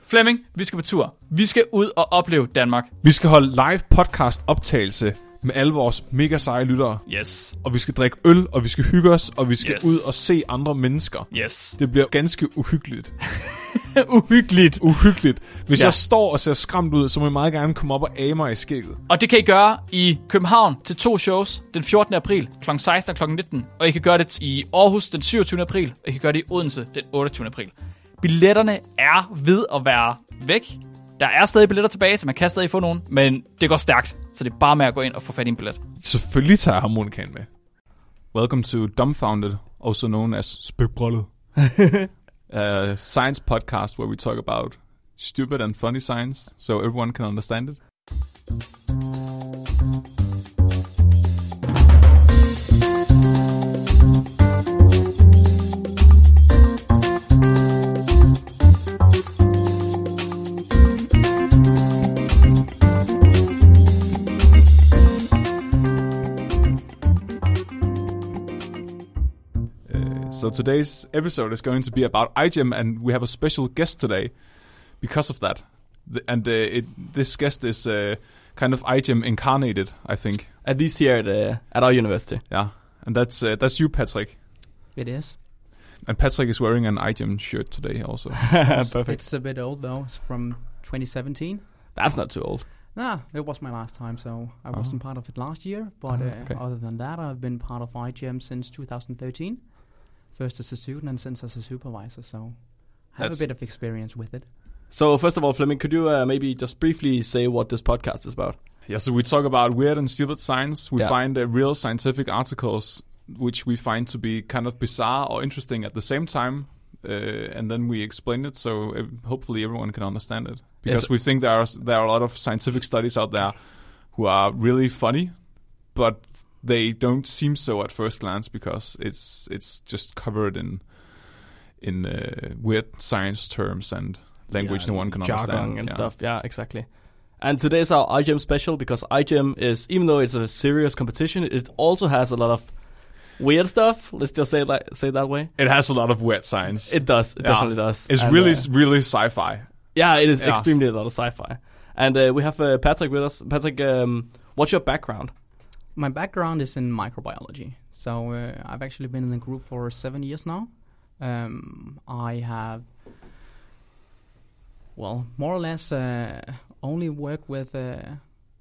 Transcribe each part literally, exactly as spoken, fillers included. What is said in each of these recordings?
Flemming, vi skal på tur. Vi skal ud og opleve Danmark. Vi skal holde live podcast optagelse med alle vores mega seje lyttere. Yes. Og vi skal drikke øl, og vi skal hygge os, og vi skal yes. ud og se andre mennesker. Yes. Det bliver ganske uhyggeligt. uhyggeligt. Uhyggeligt. Hvis ja. jeg står og ser skræmt ud, så må jeg meget gerne komme op og age mig i skægget. Og det kan I gøre i København til to shows den fjortende april klokken seksten og klokken nitten. Og I kan gøre det i Aarhus den syvogtyvende april, og I kan gøre det i Odense den otteogtyvende april. Billetterne er ved at være væk. Der er stadig billetter tilbage, så man kan stadig få nogen, men det går stærkt, så det er bare med at gå ind og få fat i en billet. Selvfølgelig tager jeg harmonikaen med. Welcome to Dumbfounded, also known as Spøgbrøllet. A science podcast where we talk about stupid and funny science, so everyone can understand it. So today's episode is going to be about iGEM, and we have a special guest today because of that. The, and uh, it, this guest is uh, kind of iGEM incarnated, I think. At least here at, uh, at our university. Yeah, and that's uh, that's you, Patrick. It is. And Patrick is wearing an iGEM shirt today also. Perfect. It's a bit old though. It's from twenty seventeen. That's not too old. Nah, it was my last time, so I Oh. wasn't part of it last year. But Oh, uh, okay. other than that, I've been part of iGEM since two thousand thirteen. First as a student and since as a supervisor, so I have That's- a bit of experience with it. So first of all, Flemming, could you uh, maybe just briefly say what this podcast is about? Yeah, so we talk about weird and stupid science. We Yeah. find uh, real scientific articles which we find to be kind of bizarre or interesting at the same time, uh, and then we explain it so uh, hopefully everyone can understand it. Because Yes. we think there are there are a lot of scientific studies out there who are really funny, but they don't seem so at first glance because it's it's just covered in in uh, weird science terms and language Yeah, no one can jargon understand and yeah. stuff. Yeah, exactly. And today's our iGEM special because iGEM is, even though it's a serious competition, it also has a lot of weird stuff. Let's just say it like say it that way. It has a lot of weird science. It does. It Yeah. definitely does. It's And, really, uh, really sci-fi. yeah, it is Yeah. extremely a lot of sci-fi. And uh, we have uh, Patrick with us. Patrick, um, what's your background? My background is in microbiology, so uh, I've actually been in the group for seven years now. Um, I have, well, more or less uh, only work with uh,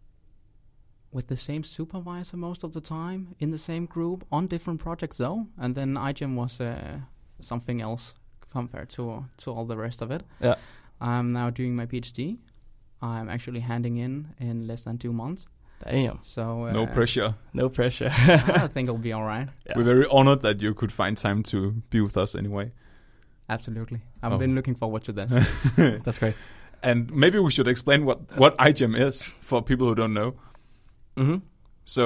with the same supervisor most of the time in the same group on different projects though, and then iGEM was uh, something else compared to to all the rest of it. Yeah. I'm now doing my PhD. I'm actually handing in in less than two months. Damn. So uh, No pressure. No pressure. I think it'll be all right. Yeah. We're very honored that you could find time to be with us anyway. Absolutely. I've Oh. been looking forward to this. That's great. And maybe we should explain what, what iGEM is for people who don't know. Mm-hmm. So,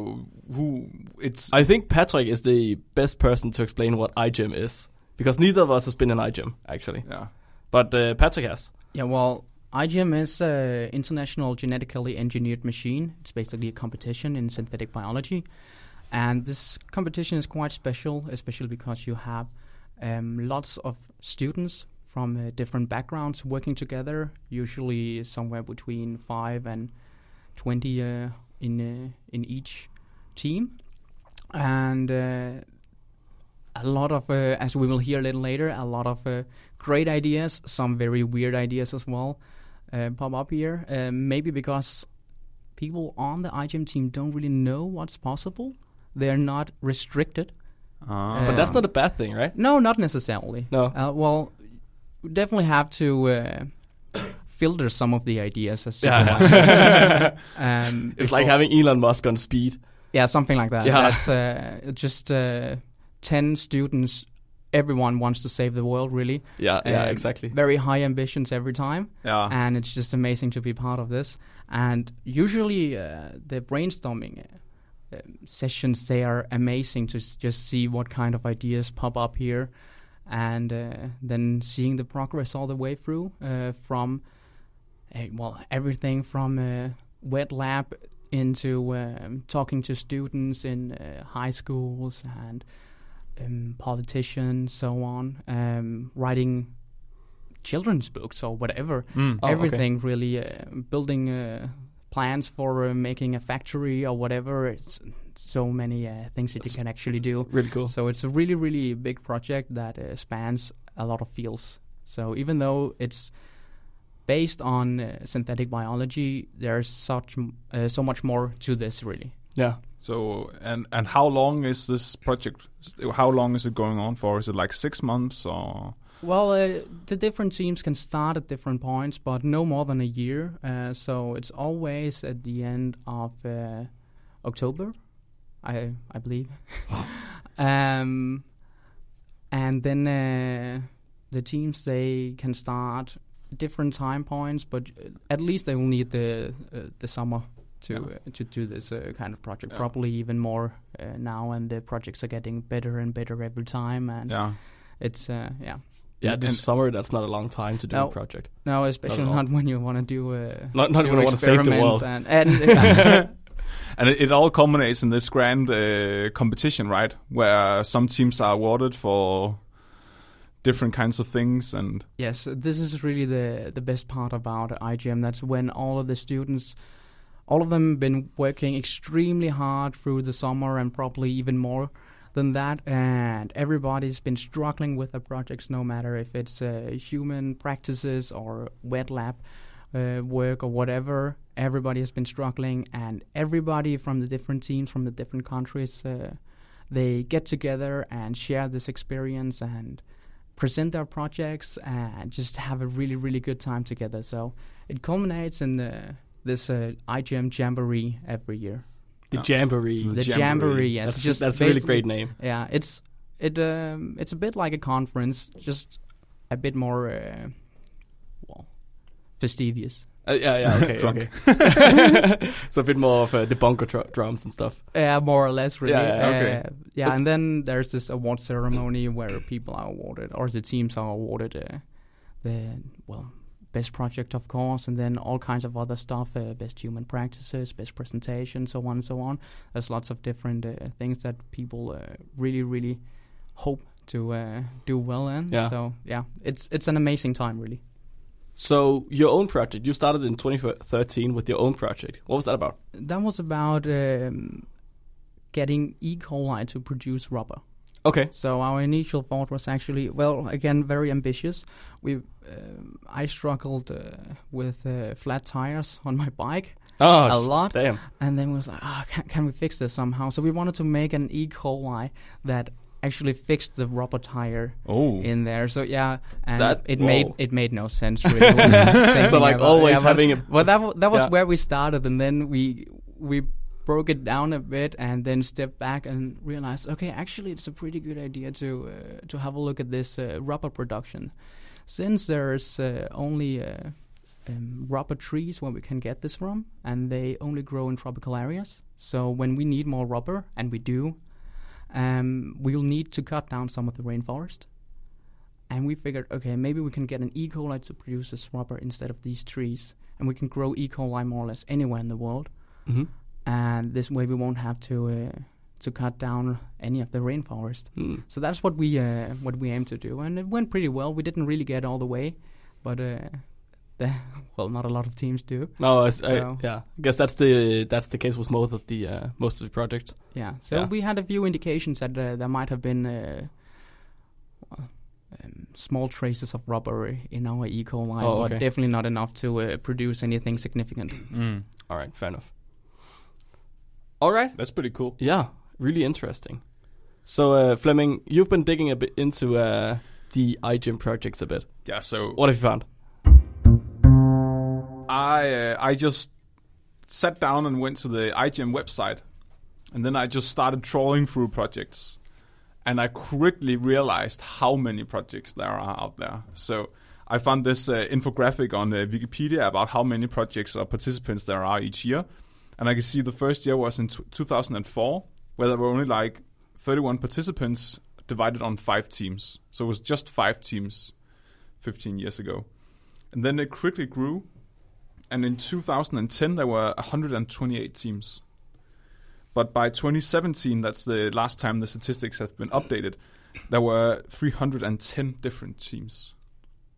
who it's I think Patrick is the best person to explain what iGEM is, because neither of us has been in iGEM actually, yeah. but uh, Patrick has. Yeah, well, iGEM is an international genetically engineered machine. It's basically a competition in synthetic biology. And this competition is quite special, especially because you have um, lots of students from uh, different backgrounds working together, usually somewhere between five and twenty uh, in uh, in each team. And uh, a lot of, uh, as we will hear a little later, a lot of uh, great ideas, some very weird ideas as well, uh, pop up here. Uh, maybe because people on the iGEM team don't really know what's possible. They're not restricted. Ah. But that's not a bad thing, right? No, not necessarily. No. Uh, well, we definitely have to uh, filter some of the ideas as Yeah. supervisors. um, It's like having Elon Musk on speed. Yeah, something like that. Yeah. That's uh, just uh, ten students. Everyone wants to save the world, really. Yeah, yeah, Um, exactly. Very high ambitions every time. Yeah. And it's just amazing to be part of this. And usually uh, the brainstorming uh, um, sessions, they are amazing to s- just see what kind of ideas pop up here. And uh, then seeing the progress all the way through uh, from, uh, well, everything from uh, wet lab into um, talking to students in uh, high schools and um, politicians, so on, um, writing children's books or whatever. Mm. Oh, Everything okay. really, uh, building uh, plans for uh, making a factory or whatever. It's so many uh, things that you can actually do. Really cool. So it's a really, really big project that uh, spans a lot of fields. So even though it's based on uh, synthetic biology, there's such m- uh, so much more to this, really. Yeah. So and and how long is this project? How long is it going on for? Is it like six months or? Well, uh, the different teams can start at different points, but no more than a year. Uh, so it's always at the end of uh, October, I I believe. um, and then uh, the teams, they can start different time points, but at least they will need the uh, the summer to Yeah. uh, to do this uh, kind of project. Yeah. Probably even more uh, now, and the projects are getting better and better every time. And Yeah. it's uh, yeah. Yeah, And- this and- summer, that's not a long time to do No. a project. No, especially Not at all. not, when you want to do uh, Not, not do when I want to save the experiments world. And, and And it, it all culminates in this grand uh, competition, right? Where some teams are awarded for different kinds of things, and yes, this is really the the best part about I G M. That's when all of the students, all of them, been working extremely hard through the summer and probably even more than that, and everybody's been struggling with the projects, no matter if it's uh, human practices or wet lab uh, work or whatever. Everybody has been struggling, and everybody from the different teams from the different countries, uh, they get together and share this experience and present their projects and just have a really, really good time together. So it culminates in the, this uh, I G M Jamboree every year. The Yeah. Jamboree. The The Jamboree. Jamboree, yes. That's, just that's a really basically- great name. Yeah, it's it um, it's a bit like a conference, just a bit more uh, well, fastidious. Uh, yeah, yeah, okay, Drunk. okay. So a bit more of uh, the bunker dr- drums and stuff. Yeah, more or less, really. Yeah, yeah, okay. Uh, yeah, and then there's this award ceremony where people are awarded, or the teams are awarded uh, the, well, best project, of course, and then all kinds of other stuff, uh, best human practices, best presentation, so on and so on. There's lots of different uh, things that people uh, really, really hope to uh, do well in. Yeah. So, yeah, it's it's an amazing time, really. So your own project, you started in twenty thirteen with your own project. What was that about? That was about um, getting E. coli to produce rubber. Okay. So our initial thought was actually, well, again, very ambitious. We, um, I struggled uh, with uh, flat tires on my bike Oh, a sh- lot, Damn. and then we was like, ah, can, can we fix this somehow? So we wanted to make an E. coli that actually fixed the rubber tire oh, in there. So yeah, and That- it whoa. made it made no sense really. when So thinking like about- always yeah, but- having a well, that w- that was Yeah. where we started, and then we we broke it down a bit, and then stepped back and realized, okay, actually, it's a pretty good idea to uh, to have a look at this uh, rubber production, since there's uh, only uh, um, rubber trees where we can get this from, and they only grow in tropical areas. So when we need more rubber, and we do, um, we'll need to cut down some of the rainforest. And we figured, okay, maybe we can get an E. coli to produce this rubber instead of these trees. And we can grow E. coli more or less anywhere in the world. Mhm. And this way we won't have to uh, to cut down any of the rainforest. Hmm. So that's what we uh, what we aim to do. And it went pretty well. We didn't really get all the way, but uh, the, well, not a lot of teams do. No, I, s- I- So- yeah. I guess that's the that's the case with most of the uh, most of the projects. Yeah. So Yeah. we had a few indications that uh, there might have been uh, well, um, small traces of rubber in our E. coli, Oh, but okay. definitely not enough to uh, produce anything significant. Mm. All right, fair enough. All right. that's pretty cool. Yeah, really interesting. So uh, Flemming, you've been digging a bit into uh, the iGEM projects a bit. Yeah. So What have you found? I uh, I just sat down and went to the I G M website, and then I just started trawling through projects, and I quickly realized how many projects there are out there. So I found this uh, infographic on uh, Wikipedia about how many projects or participants there are each year, and I can see the first year was in t- two thousand four, where there were only like thirty-one participants divided on five teams. So it was just five teams fifteen years ago. And then it quickly grew. And in two thousand ten, there were one hundred twenty-eight teams. But by twenty seventeen, that's the last time the statistics have been updated, there were three hundred ten different teams.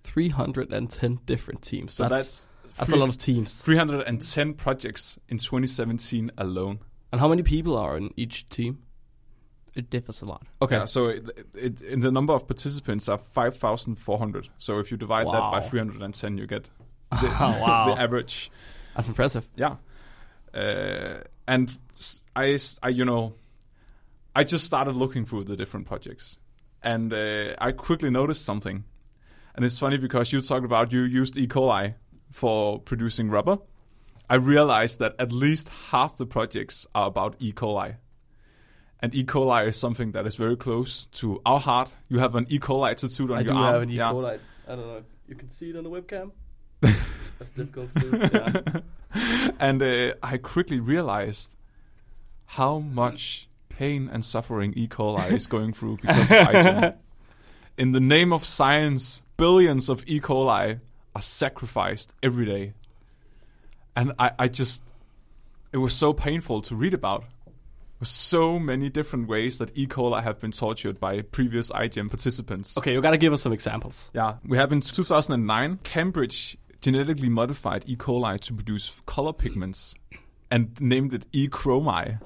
three hundred ten different teams. So that's that's, that's three- a lot of teams. three hundred ten projects in twenty seventeen alone. And how many people are in each team? It differs a lot. Okay. Yeah, so it, it, in the number of participants are five thousand four hundred. So if you divide that Wow. by three hundred ten, you get the, Oh, wow. the average. That's impressive. Yeah. Uh, and s- I, s- I, you know, I just started looking through the different projects. And uh, I quickly noticed something. And it's funny because you talked about you used E. coli for producing rubber. I realized that at least half the projects are about E. coli. And E. coli is something that is very close to our heart. You have an E. coli tattooed on I your do arm. have an E. Yeah. coli. I don't know if you can see it on the webcam. That's difficult to do. Yeah. And uh, I quickly realized how much pain and suffering E. coli is going through because of IGEM. In the name of science, billions of E. coli are sacrificed every day. And I, I just, it was so painful to read about. There were so many different ways that E. coli have been tortured by previous IGEM participants. Okay, you gotta give us some examples. Yeah, we have in two thousand nine, Cambridge genetically modified E. coli to produce color pigments and named it E. chromi.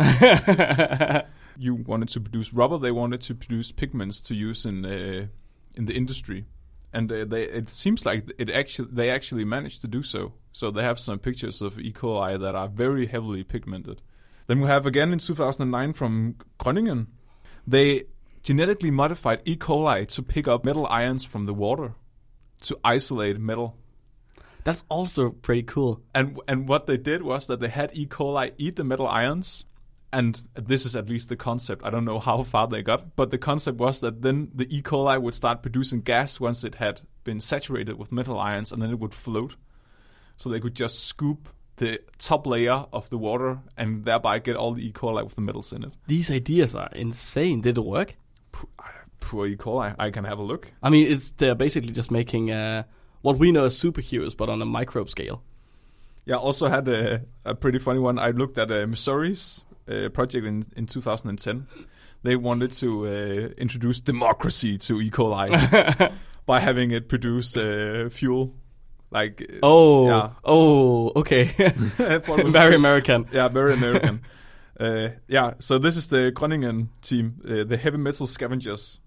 You wanted to produce rubber, they wanted to produce pigments to use in uh, in the industry. And uh, they, it seems like it actually they actually managed to do so. So they have some pictures of E. coli that are very heavily pigmented. Then we have again in two thousand nine from Groningen. They genetically modified E. coli to pick up metal ions from the water to isolate metal. That's also pretty cool. And and what they did was that they had E. coli eat the metal ions. And this is at least the concept. I don't know how far they got, but the concept was that then the E. coli would start producing gas once it had been saturated with metal ions, and then it would float. So they could just scoop the top layer of the water and thereby get all the E. coli with the metals in it. These ideas are insane. Did it work? Poor E. coli. I can have a look. I mean, it's they're basically just making uh, what we know as superheroes, but on a microbe scale. Yeah, I also had a, a pretty funny one. I looked at uh, Missouri's uh, project in, in two thousand ten. They wanted to uh, introduce democracy to E. coli by having it produce uh, fuel. Like uh, Oh, yeah. oh, okay. I thought it was Very pretty- American. Yeah, very American. uh, yeah, so this is the Groningen team, uh, the heavy metal scavengers.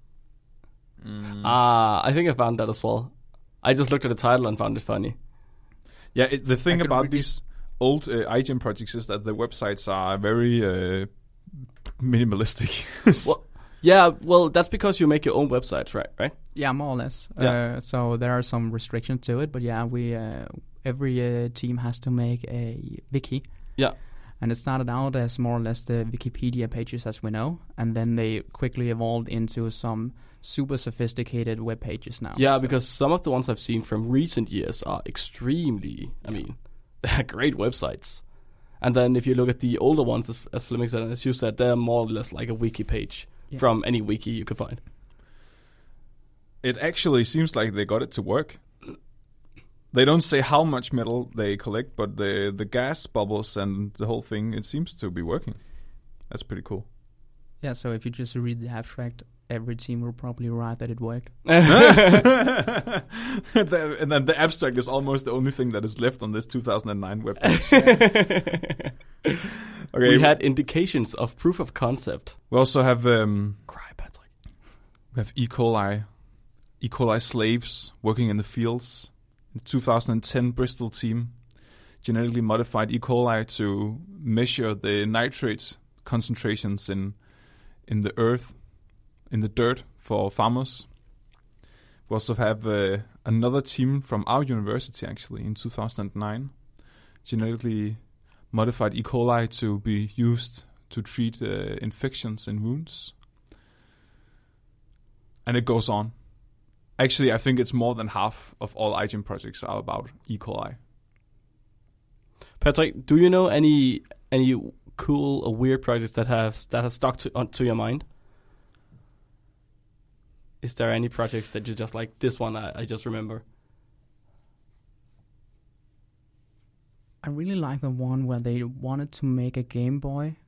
Mm. Ah, I think I found that as well. I just looked at the title and found it funny. Yeah, it, the thing I could about read these old uh, IGEM projects is that the websites are very uh, minimalistic. Well, yeah, well, that's because you make your own websites, right? Right? Yeah, more or less. Yeah. Uh, so there are some restrictions to it, but yeah, we uh, every uh, team has to make a wiki. Yeah. And it started out as more or less the Wikipedia pages as we know, and then they quickly evolved into some super sophisticated web pages now. Yeah, So- because some of the ones I've seen from recent years are extremely, I mean, they're great websites. And then if you look at the older ones, as, as Flemming said, as you said, they're more or less like a wiki page Yeah. from any wiki you can find. It actually seems like they got it to work. They don't say how much metal they collect, but the the gas bubbles and the whole thing, it seems to be working. That's pretty cool. Yeah, so if you just read the abstract, every team will probably write that it worked. The- and then the abstract is almost the only thing that is left on this two thousand nine webpage. Okay, We had indications of proof of concept. we also have um, Cry, Patrick. we have E. coli, E. coli slaves working in the fields. In two thousand ten, Bristol team genetically modified E. coli to measure the nitrate concentrations in in the earth, in the dirt for farmers. We also have uh, another team from our university, actually, in two thousand nine, genetically modified E. coli to be used to treat uh, infections and wounds. And it goes on. Actually, I think it's more than half of all IGEM projects are about E. coli. Patrick, do you know any any cool or weird projects that have that have stuck to on, to your mind? Is there any projects that you just like? This one I, I just remember. I really like the one where they wanted to make a Game Boy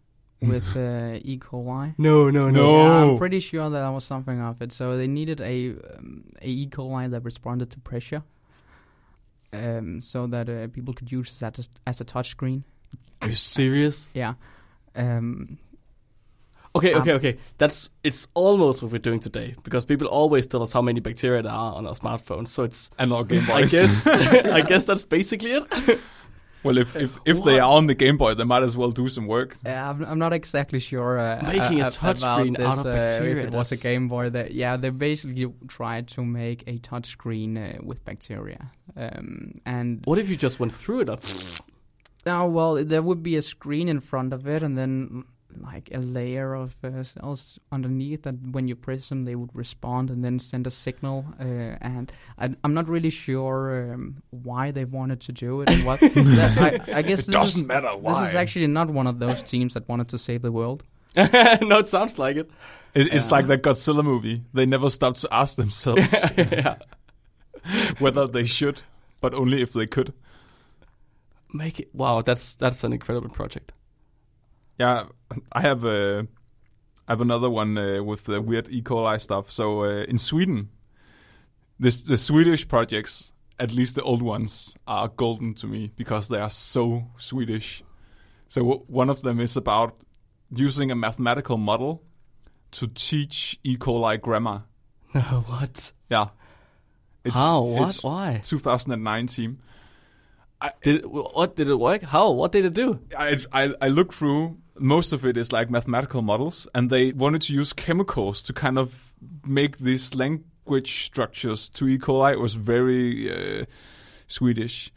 with uh, E. coli. No, no, no. No. Yeah, I'm pretty sure that was something of it. So they needed a um, a E. coli that responded to pressure, um, so that uh, people could use it as, as a touch screen. Are you serious? Yeah. Um, Okay, Um, okay, okay. That's it's almost what we're doing today because people always tell us how many bacteria there are on our smartphones. So it's And our Game I Boys. guess I guess that's basically it. Well, if if, if they are on the Game Boy, they might as well do some work. Yeah, I'm, I'm not exactly sure. Uh, Making a uh, touch about screen this, out of uh, bacteria, If it was a that's- Game Boy, that yeah, they basically tried to make a touch screen uh, with bacteria. Um, and What if you just went through it? oh well, there would be a screen in front of it, and then like a layer of uh, cells underneath that when you press them, they would respond and then send a signal. Uh, and I, I'm not really sure um, why they wanted to do it and what. that, I, I guess It this doesn't is, matter why. This is actually not one of those teams that wanted to save the world. No, it sounds like it. It, it's Yeah. like that Godzilla movie. They never stop to ask themselves Yeah. whether they should, but only if they could. Make it. Wow, that's that's an incredible project. Yeah, I have uh, I have another one uh, with the weird E. coli stuff. So uh, in Sweden, this the Swedish projects, at least the old ones, are golden to me because they are so Swedish. So w- one of them is about using a mathematical model to teach E. coli grammar. No, what? Yeah. How? What? It's Why? two thousand nine team. Did it, what did it work? How? What did it do? I, I I looked through. Most of it is like mathematical models, and they wanted to use chemicals to kind of make these language structures to E. coli. It was very uh, Swedish.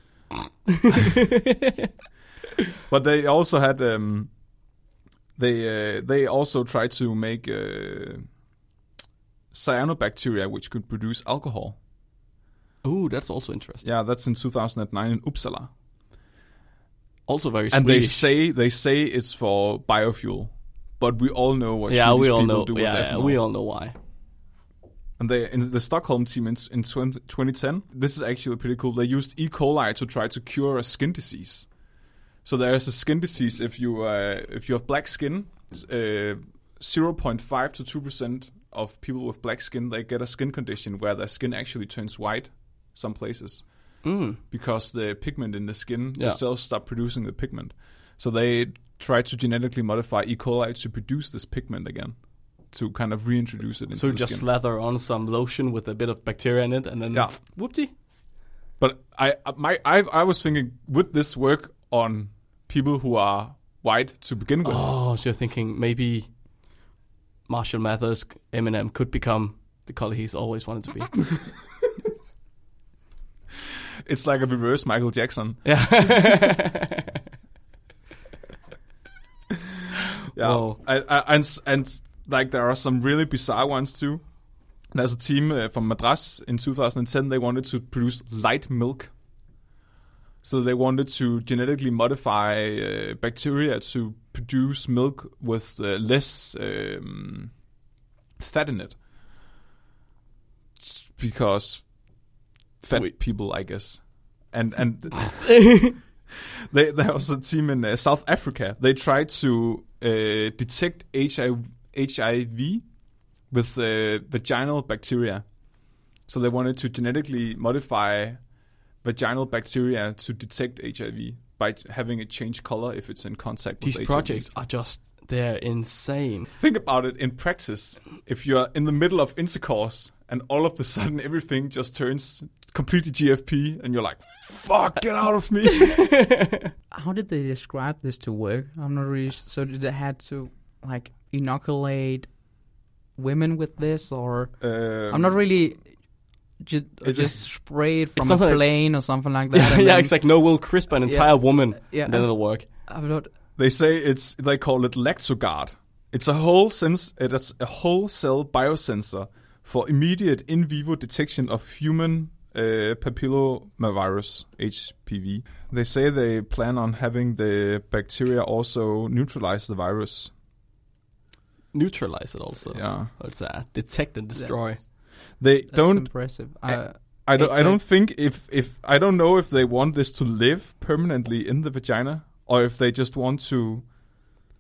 But they also had um, they uh, they also tried to make uh, cyanobacteria, which could produce alcohol. Oh, that's also interesting. Yeah, that's in two thousand nine in Uppsala. Also very And they Swedish. say they say it's for biofuel, but we all know what yeah, Swedish we all people know. do with Yeah, yeah, ethanol. we all know why. And they in the Stockholm team in, in twenty ten, this is actually pretty cool. They used E. coli to try to cure a skin disease. So there is a skin disease if you uh, if you have black skin, uh, zero point five to two percent of people with black skin, they get a skin condition where their skin actually turns white some places. Mm. Because the pigment in the skin, Yeah. the cells stop producing the pigment. So they try to genetically modify E. coli to produce this pigment again, to kind of reintroduce it into So you the just skin. slather on some lotion with a bit of bacteria in it, and then Yeah. whoopty. But I, my, I, I was thinking, would this work on people who are white to begin with? Oh, so you're thinking maybe Marshall Mathers, Eminem, could become the color he's always wanted to be. It's like a reverse Michael Jackson. Yeah. Yeah, Whoa. I, I, and s- and like there are some really bizarre ones too. There's a team uh, from Madras in two thousand ten. They wanted to produce light milk, so they wanted to genetically modify uh, bacteria to produce milk with uh, less um, fat in it, S- because fat Wait. people, I guess, and and. They, there was a team in uh, South Africa. They tried to uh, detect H I V with uh, vaginal bacteria. So they wanted to genetically modify vaginal bacteria to detect H I V by having it change color if it's in contact These with projects H I V. are just, they're insane. Think about it in practice. If you're in the middle of intercourse and all of a sudden everything just turns completely G F P and you're like, fuck, get out of me. How did they describe this to work? I'm not really. So did they had to like inoculate women with this, or Um, I'm not really. Just, it- just spray it from a something like- plane or something like that. Yeah, and yeah, then- it's like no, we'll crisp an entire Yeah. woman, Yeah, and then it'll work. I'm not. They say it's they call it Lactogard. It's a whole sense. It's a whole cell biosensor for immediate in vivo detection of human uh, papillomavirus (H P V). They say they plan on having the bacteria also neutralize the virus. Neutralize it also. Yeah, It's a detect and destroy. That's- they That's don't. impressive. I- Uh, I don't. I Okay. don't think if if I don't know if they want this to live permanently in the vagina or if they just want to.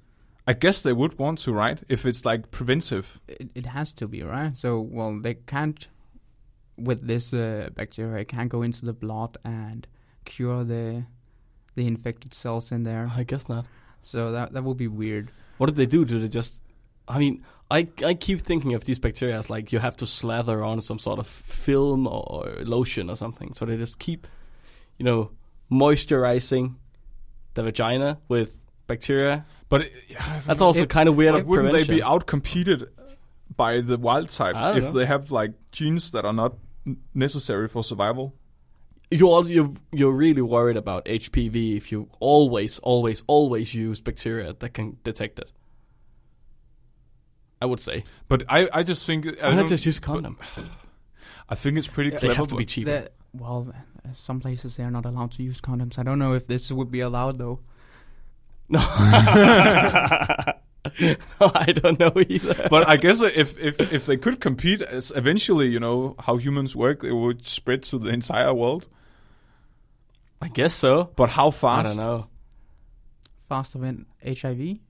I guess they would want to, right? If it's like preventive. It, it has to be, right? So, well, they can't, with this uh, bacteria, it can't go into the blood and cure the the infected cells in there. I guess not. So that that would be weird. What did they do? Do they just... I mean, I I keep thinking of these bacteria as like you have to slather on some sort of film or lotion or something. So they just keep, you know, moisturizing the vagina with bacteria. But it, That's also If- kind of weird. but of wouldn't they prevention. be outcompeted by the wild type I don't if know. they have like genes that are not n- necessary for survival? You're also you're, you're really worried about H P V if you always, always, always use bacteria that can detect it. I would say. But I, I just think I, Why not don't- just use a condom? I think it's pretty They clever. have to be but- cheaper. The, well, uh, some places they are not allowed to use condoms. I don't know if this would be allowed though. No. I don't know either. But I guess if, if if they could compete, as eventually, you know, how humans work, it would spread to the entire world. I guess so. But how I fast? don't know. Faster than H I V.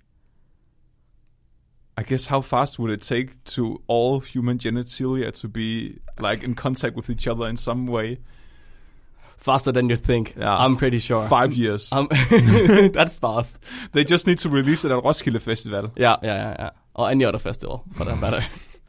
I guess how fast would it take to all human genitalia to be like in contact with each other in some way? Faster than you think. Yeah. I'm pretty sure. Five years. Um, that's fast. They just need to release it at Roskilde Festival. Yeah, yeah, yeah, yeah. Or any other festival, for that matter.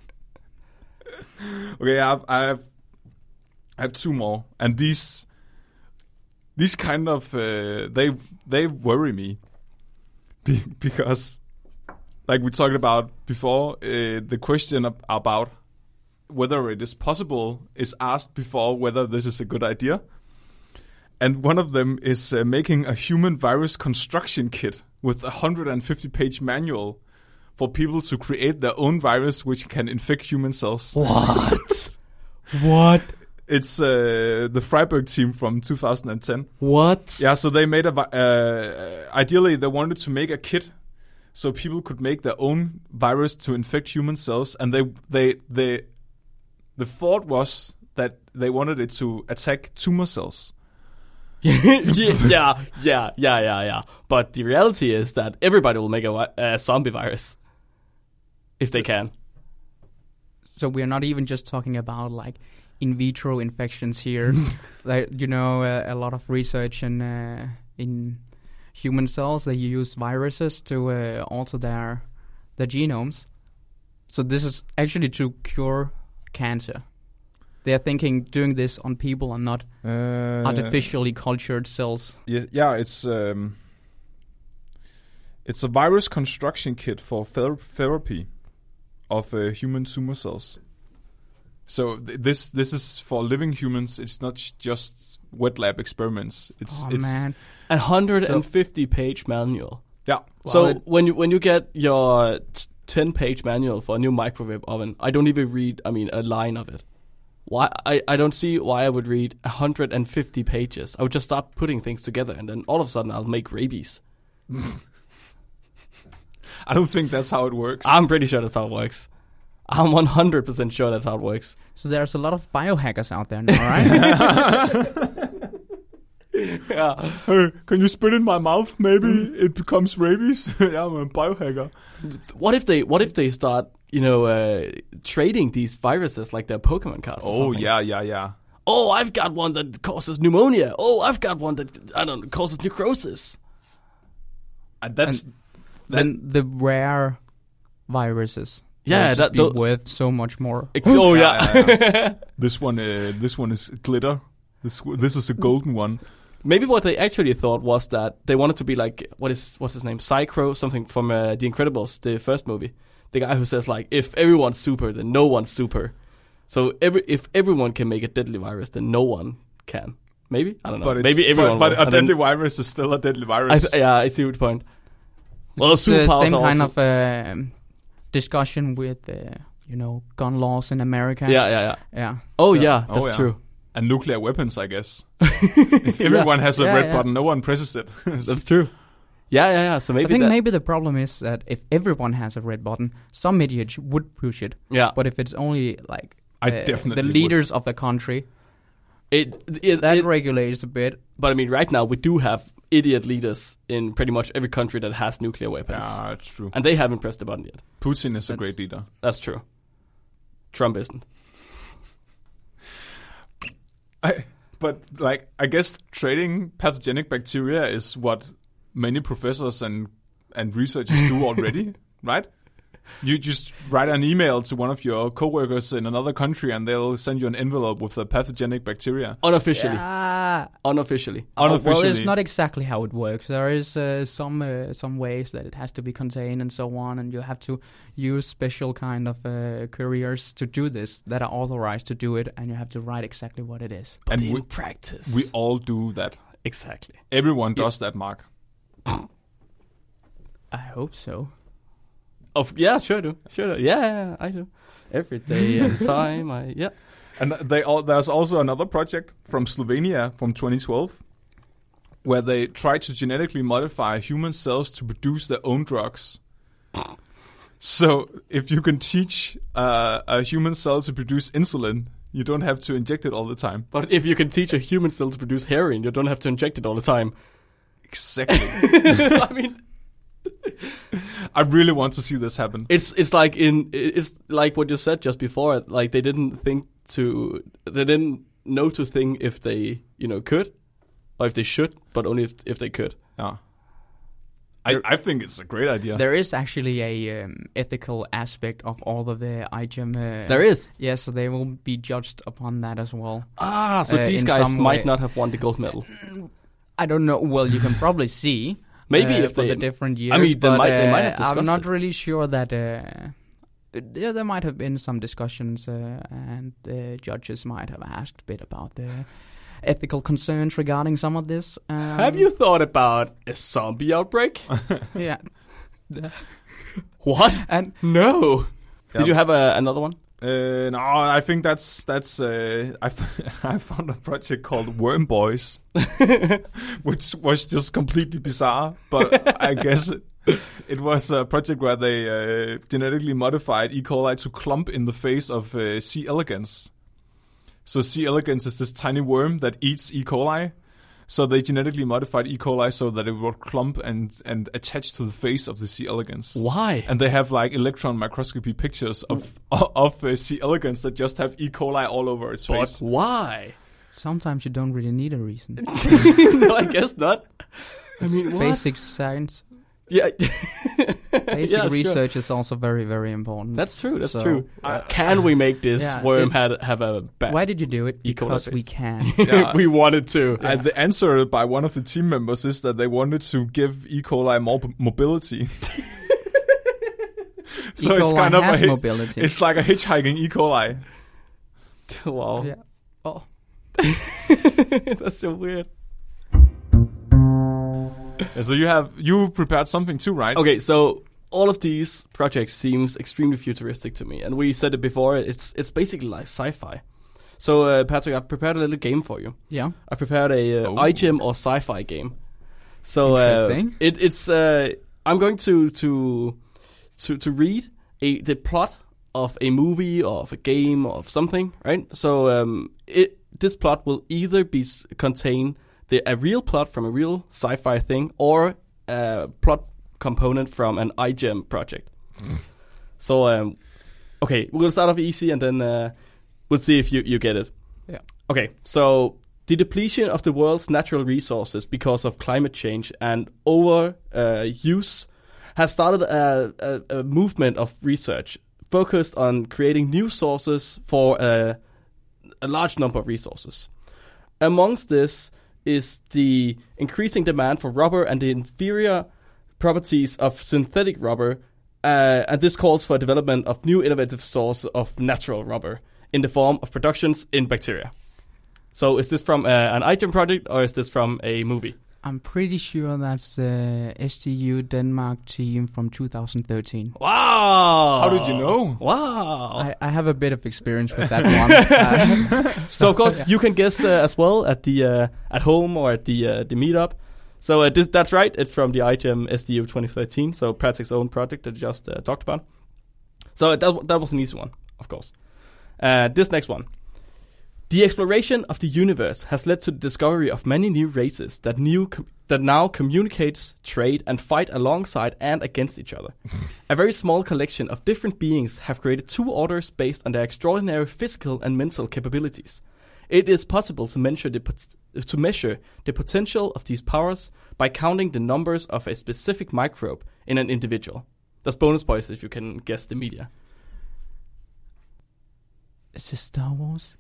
Okay, I have, I have, I have two more, and these, these kind of uh, they they worry me, Be- because, like we talked about before, uh, the question ab- about whether it is possible is asked before whether this is a good idea, and one of them is uh, making a human virus construction kit with a one hundred fifty page manual for people to create their own virus which can infect human cells. What? What? It's uh, the Freiburg team from two thousand ten. What? Yeah, so they made a. vi- Uh, ideally, they wanted to make a kit so people could make their own virus to infect human cells, and they they they the thought was that they wanted it to attack tumor cells. yeah, yeah, yeah, yeah, yeah, yeah. But the reality is that everybody will make a, wi- a zombie virus if they can. So we're not even just talking about like in vitro infections here. Like, you know, uh, a lot of research in uh, in human cells, they use viruses to uh, alter their their genomes. So this is actually to cure cancer. They are thinking doing this on people and not Uh, artificially cultured cells. Yeah, yeah, it's um, it's a virus construction kit for ther- therapy of uh, human tumor cells. So th- this this is for living humans. It's not sh- just wet lab experiments. It's Oh it's man, A one hundred fifty page manual. yeah. So it- when you when you get your t- ten page manual for a new microwave oven, I don't even read. I mean, a line of it. Why I, I don't see why I would read one hundred fifty pages. I would just start putting things together, and then all of a sudden I'll make rabies. I don't think that's how it works. I'm pretty sure that's how it works. I'm one hundred percent sure that's how it works. so there's a lot of biohackers out there now, right? Yeah. Hey, can you spit in my mouth? Maybe it becomes rabies. Yeah, I'm a biohacker. What if they What if they start, you know, uh, trading these viruses like they're Pokemon cards? or Oh something? yeah, yeah, yeah. Oh, I've got one that causes pneumonia. Oh, I've got one that I don't know, causes necrosis. And that's Then the rare viruses, Yeah, will just that- be tho- worth so much more. Ex- oh Yeah, yeah. this one. Uh, this one is glitter. This w- this is a golden one. Maybe what they actually thought was that they wanted to be like what is what's his name, Psycho, something from uh, The Incredibles, the first movie. The guy who says like, if everyone's super, then no one's super. So every if everyone can make a deadly virus, then no one can. Maybe I don't know. But it's, Maybe everyone. But, will. but a And then- deadly virus is still a deadly I virus. th- yeah, I see your point. Well, It's the superpowers same are kind also- of um, discussion with, uh, you know, gun laws in America. Yeah, yeah, yeah. yeah. Oh So- yeah, Oh, that's yeah. true. And nuclear weapons, I guess. If everyone has a Yeah, red yeah. button, no one presses it. That's true. Yeah, yeah, yeah. So maybe I think that, maybe the problem is that if everyone has a red button, some idiots would push it. yeah. But if it's only like I uh, definitely the leaders of the country, It, it, that it regulates a bit. But I mean, right now we do have idiot leaders in pretty much every country that has nuclear weapons. Yeah, it's true. And they haven't pressed the button yet. Putin is a That's- great leader. That's true. Trump isn't. I, but like, I guess trading pathogenic bacteria is what many professors and and researchers do already, right? You just write an email to one of your coworkers in another country, and they'll send you an envelope with the pathogenic bacteria. Unofficially. Yeah. Unofficially. Oh, well, Unofficially. it's not exactly how it works. There is uh, some uh, some ways that it has to be contained and so on, and you have to use special kind of uh, couriers to do this that are authorized to do it, and you have to write exactly what it is. But And in we- practice. We all do that. exactly. Everyone Yeah. does that, Mark. I hope so. Of yeah, sure do. Sure do. Yeah, yeah, yeah, I do. Every day and time. I yeah. And they all, there's also another project from Slovenia from twenty twelve where they try to genetically modify human cells to produce their own drugs. So if you can teach uh, a human cell to produce insulin, you don't have to inject it all the time. But if you can teach a human cell to produce heroin, you don't have to inject it all the time. Exactly. I mean, I really want to see this happen. it's it's like in it's like what you said just before. Like they didn't think to they didn't know to think if they you know could or if they should, but only if if they could. Yeah. I, I think it's a great idea. There is actually a um, ethical aspect of all of the I G E M. Uh, There is. Yes, so they will be judged upon that as well. Ah, so Uh, these in guys some might way. not have won the gold medal. I don't know. Well, you can probably see. Maybe uh, if for they- the different years. I mean, they but, might- they uh, might have discussed I'm not it. really sure that. Uh, yeah, there might have been some discussions, uh, and the judges might have asked a bit about the ethical concerns regarding some of this. Um, Have you thought about a zombie outbreak? Yeah. What? And No. Yep. Did you have a, another one? Uh, no, I think that's that's. Uh, I f- I found a project called Worm Boys, which was just completely bizarre. But I guess it, it was a project where they uh, genetically modified E. coli to clump in the face of uh, C. elegans. So C. elegans is this tiny worm that eats E. coli. So they genetically modified E. coli so that it would clump and, and attach to the face of the C. elegans. Why? And they have like electron microscopy pictures of of uh, C. elegans that just have E. coli all over its But face. why? sometimes you don't really need a reason. No, I guess not. I mean, what? Basic science, Yeah. basic Yeah, sure. research is also very, very important. That's true. That's So, true. uh, Can we make this yeah, worm it- had, have a bad? Why did you do it? E. coli Because we face. can. Yeah. we wanted to. And the answer by one of the team members is that they wanted to give E. coli more p- mobility. so E. it's coli kind of a has hi- mobility. it's like a hitchhiking E. coli. Wow. Yeah. Oh. That's so weird. Yeah, so you have you prepared something too, right? Okay, so all of these projects seems extremely futuristic to me, and we said it before. It's it's basically like sci-fi. So uh, Patrick, I've prepared a little game for you. Yeah. I prepared a uh, Oh. I G E M or sci-fi game. So uh, Interesting. it, it's uh, I'm going to to to to read a the plot of a movie or of a game or of something, right? So um, it this plot will either be s- contain the a real plot from a real sci-fi thing or a plot component from an I G E M project. So um, okay, we'll start off easy and then uh, we'll see if you you get it. Yeah. Okay, so the depletion of the world's natural resources because of climate change and over uh, use has started a, a, a movement of research focused on creating new sources for a, a large number of resources. Amongst this is the increasing demand for rubber and the inferior properties of synthetic rubber, uh, and this calls for development of new innovative source of natural rubber in the form of productions in bacteria. So is this from uh, an I G E M project or is this from a movie? I'm pretty sure that's the S T U Denmark team from two thousand thirteen. Wow! How did you know? Wow! I, I have a bit of experience with that one. Uh, So of course you can guess uh, as well at the uh, at home or at the uh, the meetup. So uh, this, that's right. It's from the I G E M S D U twenty thirteen. So Patrick's own project that I just uh, talked about. So that that was an easy one, of course. Uh, this next one. The exploration of the universe has led to the discovery of many new races that new com- that now communicates, trade, and fight alongside and against each other. A very small collection of different beings have created two orders based on their extraordinary physical and mental capabilities. It is possible to measure the pot- to measure the potential of these powers by counting the numbers of a specific microbe in an individual. There's bonus points if you can guess the media. Is this Star Wars?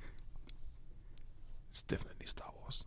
It's definitely Star Wars.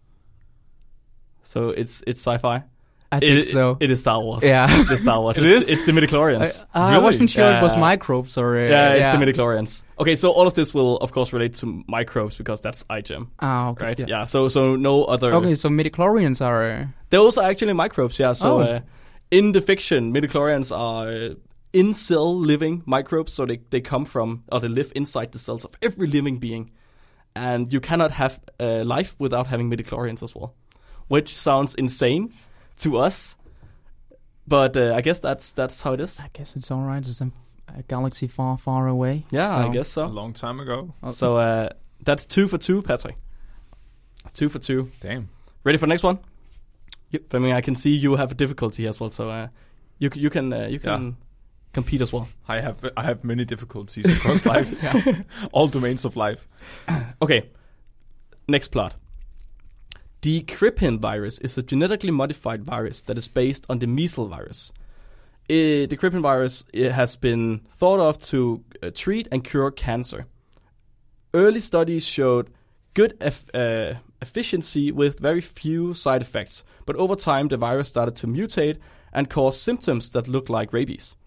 So it's it's sci-fi. I think It, so. it is Star Wars. Yeah. It's Star Wars. It it's, is? It's the midichlorians. I, uh, I Really? wasn't sure it was Yeah. microbes or... Uh, yeah, it's the midichlorians. Okay, so all of this will, of course, relate to microbes because that's iGEM, Ah, okay. right? Yeah. Yeah. So so no other. Okay, so midichlorians are... Uh, Those are actually microbes. Yeah. So Oh. uh, in the fiction, midichlorians are uh, in-cell living microbes. So they they come from or they live inside the cells of every living being, and you cannot have uh, life without having midichlorians as well, which sounds insane to us. But uh, I guess that's that's how it is. I guess it's alright. It's a, a galaxy far, far away. Yeah, so. I guess so. A long time ago. So uh, that's two for two, Patrick. Two for two. Damn. Ready for the next one? Yep. I mean, I can see you have a difficulty as well, so uh, you c- you can uh, you can Yeah. compete as well. I have I have many difficulties across life. All domains of life. Okay. Next plot. The Crippen virus is a genetically modified virus that is based on the measles virus. Uh, the Crippen virus it has been thought of to uh, treat and cure cancer. Early studies showed good eff- uh, efficiency with very few side effects, but over time the virus started to mutate and cause symptoms that look like rabies.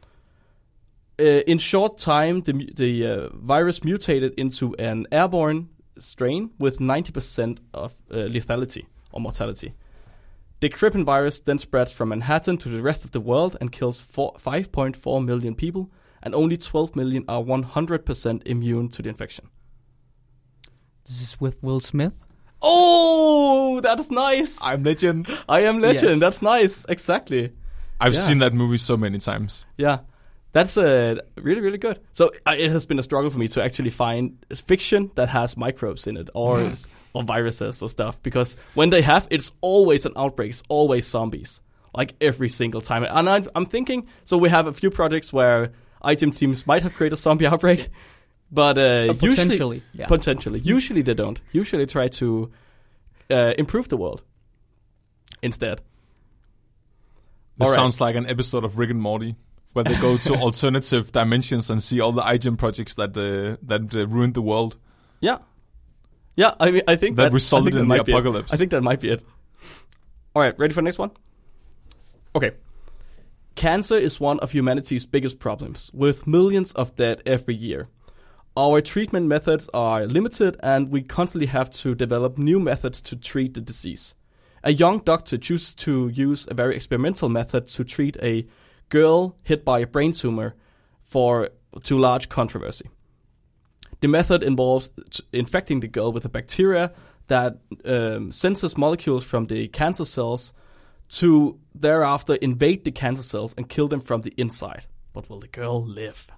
Uh, in short time, the, mu- the uh, virus mutated into an airborne strain with ninety percent of uh, lethality or mortality. The Crippen virus then spreads from Manhattan to the rest of the world and kills five point four million people, and only twelve million are one hundred percent immune to the infection. This is with Will Smith. Oh, that's nice. I'm Legend. I am Legend. Yes. That's nice. Exactly. I've Yeah. seen that movie so many times. Yeah. That's uh, really, really good. So uh, it has been a struggle for me to actually find fiction that has microbes in it or or viruses or stuff. Because when they have, it's always an outbreak. It's always zombies. Like every single time. And I'm, I'm thinking, so we have a few projects where iGEM teams might have created a zombie outbreak. But uh, Uh, usually, potentially, yeah. potentially. Usually they don't. Usually they try to uh, improve the world instead. This Alright. sounds like an episode of Rick and Morty, where they go to alternative dimensions and see all the iGEM projects that uh, that uh, ruined the world. Yeah. Yeah, I mean, I think That that, resulted I think that in the might be it. apocalypse. I think that might be it. All right, ready for the next one? Okay. Cancer is one of humanity's biggest problems, with millions of dead every year. Our treatment methods are limited, and we constantly have to develop new methods to treat the disease. A young doctor chooses to use a very experimental method to treat a girl hit by a brain tumor for to large controversy. The method involves t- infecting the girl with a bacteria that um, senses molecules from the cancer cells to thereafter invade the cancer cells and kill them from the inside. But will the girl live?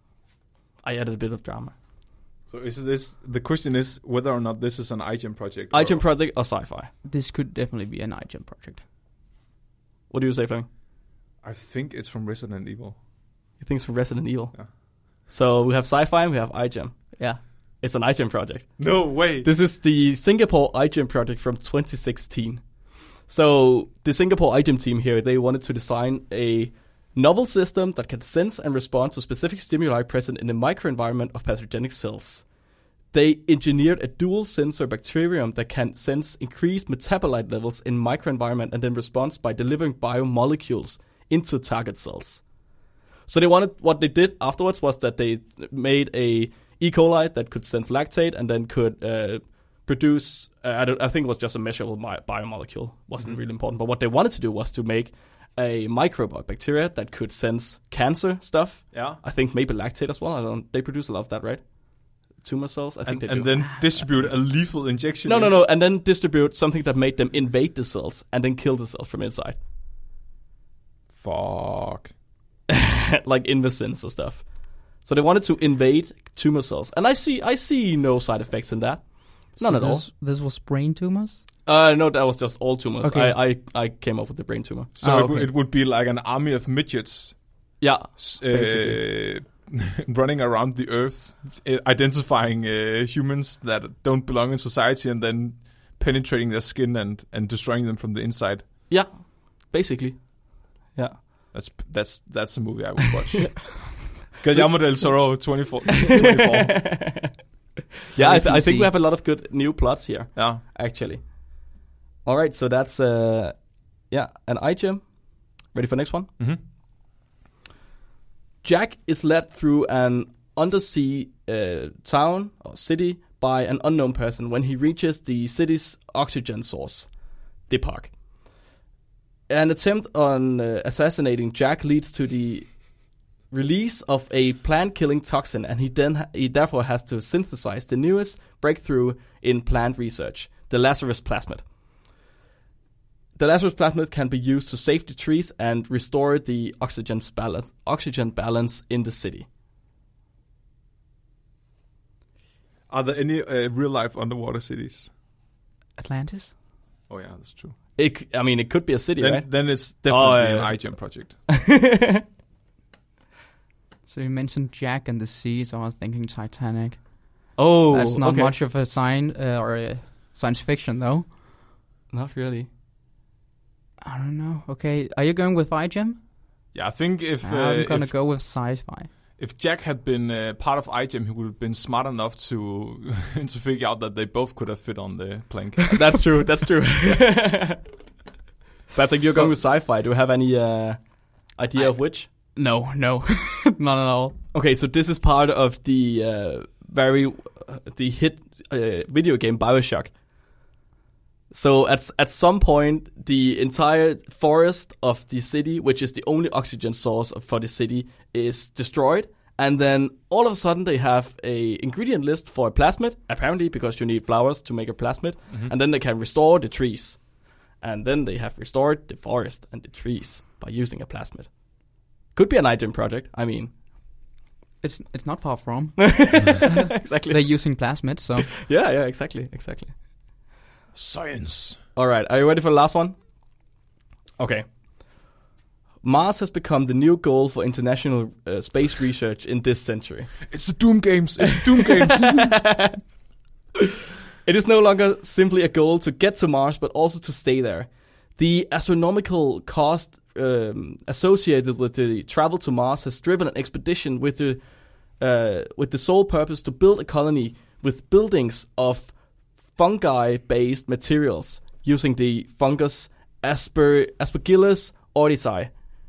I added a bit of drama. So is this the question is whether or not this is an iGEM project? or- iGEM project or sci-fi? This could definitely be an iGEM project. What do you say, Fleming? I think it's from Resident Evil. You think it's from Resident Evil? Yeah. So we have sci-fi and we have iGEM. Yeah. It's an iGEM project. No way. This is the Singapore iGEM project from twenty sixteen. So the Singapore iGEM team here, they wanted to design a novel system that can sense and respond to specific stimuli present in the microenvironment of pathogenic cells. They engineered a dual sensor bacterium that can sense increased metabolite levels in microenvironment and then responds by delivering biomolecules into target cells. So they wanted, what they did afterwards was that they made a E. coli that could sense lactate and then could uh, produce, uh, I, don't, I think it was just a measurable mi- biomolecule, wasn't Mm-hmm. really important. But what they wanted to do was to make a microbe or bacteria that could sense cancer stuff. Yeah. I think maybe lactate as well. I don't. They produce a lot of that, right? Tumor cells. I think And, they and do. then distribute a lethal injection. no, in. no, no, and then distribute something that made them invade the cells and then kill the cells from inside, Fuck. like Invasins or stuff. So they wanted to invade tumor cells, and I see, I see no side effects in that. None at all. this, This was brain tumors? Uh, no, that was just all tumors. Okay. I, I, I came up with the brain tumor. So Oh, it, w- okay. it would be like an army of midgets Yeah, s- Basically. uh, running around the earth, uh, identifying uh, humans that don't belong in society, and then penetrating their skin and, and destroying them from the inside. yeah, basically. Yeah. That's that's that's a movie I would watch. Guillermo del Toro, twenty-four. twenty-four. Yeah, I, th- I P C. think we have a lot of good new plots here, Yeah. actually. All right, so that's, uh, yeah, an iGem. Ready for next one? Mm-hmm. Jack is led through an undersea uh, town or city by an unknown person when he reaches the city's oxygen source, the park. An attempt on uh, assassinating Jack leads to the release of a plant-killing toxin, and he then ha- he therefore has to synthesize the newest breakthrough in plant research, the Lazarus plasmid. The Lazarus plasmid can be used to save the trees and restore the oxygen balance, oxygen balance in the city. Are there any uh, real-life underwater cities? Atlantis? Oh yeah, that's true. It, c- I mean, it could be a city, Then, right? then it's definitely Oh, yeah. an iGem project. So you mentioned Jack and the sea, so I was thinking Titanic. Oh, That's not okay. much of a sign uh, or a science fiction, though. Not really. I don't know. Okay, are you going with iGem? Yeah, I think if uh, I'm gonna if, go with sci-fi. if Jack had been uh, part of iGem, he would have been smart enough to to figure out that they both could have fit on the plank. That's true. That's true. Patrick, you're going with sci-fi. Do you have any uh, idea I- of which? No, no, not at all. Okay, so this is part of the uh, very uh, the hit uh, video game BioShock. So at at some point, the entire forest of the city, which is the only oxygen source of, for the city, is destroyed. And then all of a sudden, they have a ingredient list for a plasmid, apparently because you need flowers to make a plasmid. Mm-hmm. And then they can restore the trees. And then they have restored the forest and the trees by using a plasmid. Could be an iGem project. I mean, It's it's not far from. exactly. They're using plasmids, so Yeah, yeah, exactly, exactly. Science. All right, are you ready for the last one? Okay. Mars has become the new goal for international uh, space research in this century. It's the Doom games. It's the Doom games. It is no longer simply a goal to get to Mars, but also to stay there. The astronomical cost um, associated with the travel to Mars has driven an expedition with the uh, with the sole purpose to build a colony with buildings of fungi-based materials using the fungus Asper Aspergillus oryzae.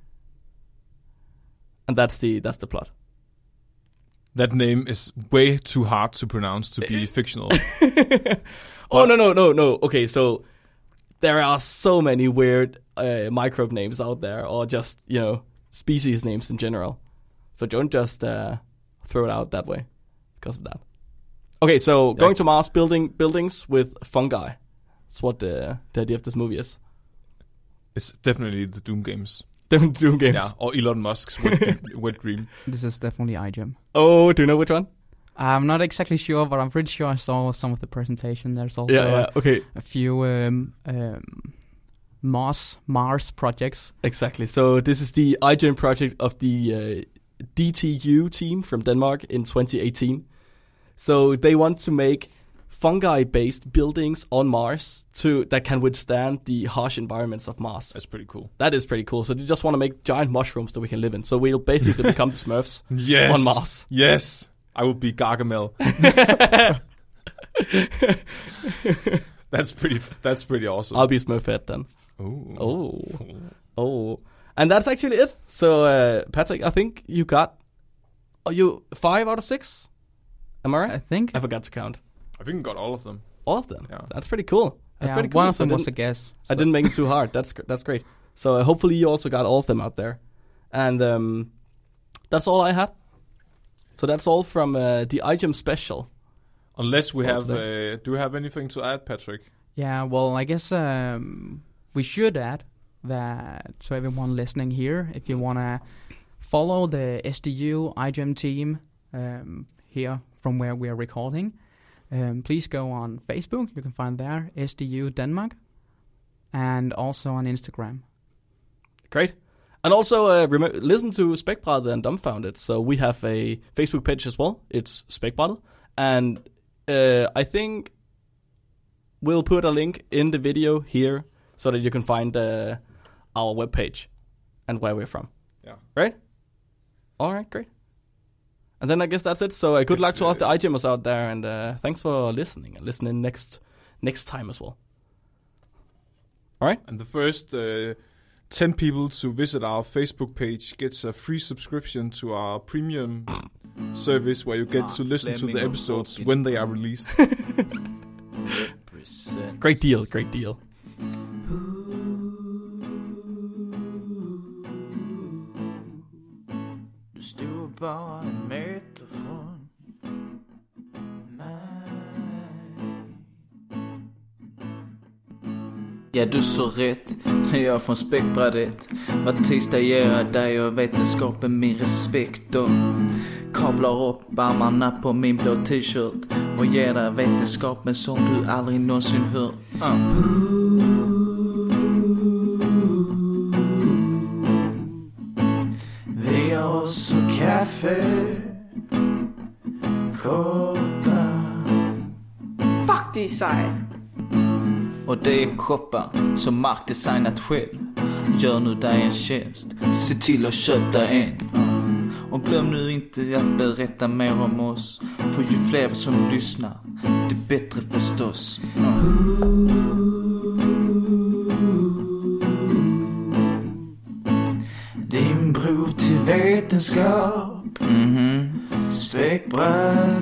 And that's the that's the plot. That name is way too hard to pronounce to be fictional. Oh no no no no. Okay, so there are so many weird uh, microbe names out there, or just you know species names in general. So don't just uh, throw it out that way because of that. Okay, so going to Mars, building buildings with fungi. That's what the the idea of this movie is. It's definitely the Doom games. Different Doom games. Yeah, or Elon Musk's wet, wet dream. this is definitely iGem. Oh, do you know which one? I'm not exactly sure, but I'm pretty sure I saw some of the presentation. There's also yeah, yeah. a, Okay, a few um, um, Mars Mars projects. exactly. So this is the iGen project of the uh, D T U team from Denmark in twenty eighteen. So they want to make fungi-based buildings on Mars to that can withstand the harsh environments of Mars. That's pretty cool. That is pretty cool. So they just want to make giant mushrooms that we can live in. So we'll basically become the Smurfs Yes. on Mars. Yes. I will be Gargamel. That's pretty. That's pretty awesome. I'll be Smurfette then. Ooh. Oh, oh, and that's actually it. So uh, Patrick, I think you got. Are you five out of six? Am I right? I think. I forgot to count I think we got all of them. all of them. Yeah. That's pretty cool. That's Yeah, pretty cool. one of So I them was a didn't- guess. I so- didn't make it too hard. That's gr- that's great. So uh, hopefully you also got all of them out there, and um, that's all I had. So that's all from uh, the iGem special. Unless we For have. today. Uh, do we have anything to add, Patrick? Yeah, well, I guess um, we should add that to everyone listening here, if you want to follow the S D U iGem team um, here from where we are recording, Um, please go on Facebook. You can find there S D U Denmark, and also on Instagram. Great. And also uh, rem- listen to Spækbrættet and Dumbfounded. So we have a Facebook page as well. It's Spækbrættet. And uh, I think we'll put a link in the video here so that you can find uh, our webpage and where we're from. Yeah. Right? All right, great. And then I guess that's it. So uh, good If, luck to all uh, of the iGymmers out there. And uh, thanks for listening and listening next next time as well. All right? And the first uh, ten people to visit our Facebook page gets a free subscription to our premium service where you get to listen to the episodes when they are released. Great deal, great deal. Du stod bara en meter från mig. Ja, du så rätt. Jag är från Spækbrættet. Var tisdag ger jag dig och vetenskapen min respekt och kablar upp armarna på min blå t-shirt och ger dig vetenskapen som du aldrig någonsin hört. Uh. Vi har oss och kaffe, koppar. Fuck, det är sej. Och det är koppar som Mark designat själv. Gör nu dig en tjänst, se till att köpa en. Och glöm nu inte att berätta mer om oss. För ju fler som lyssnar, det bättre förstås. Din bro till vetenskap. Mm-hmm. Spækbrættet.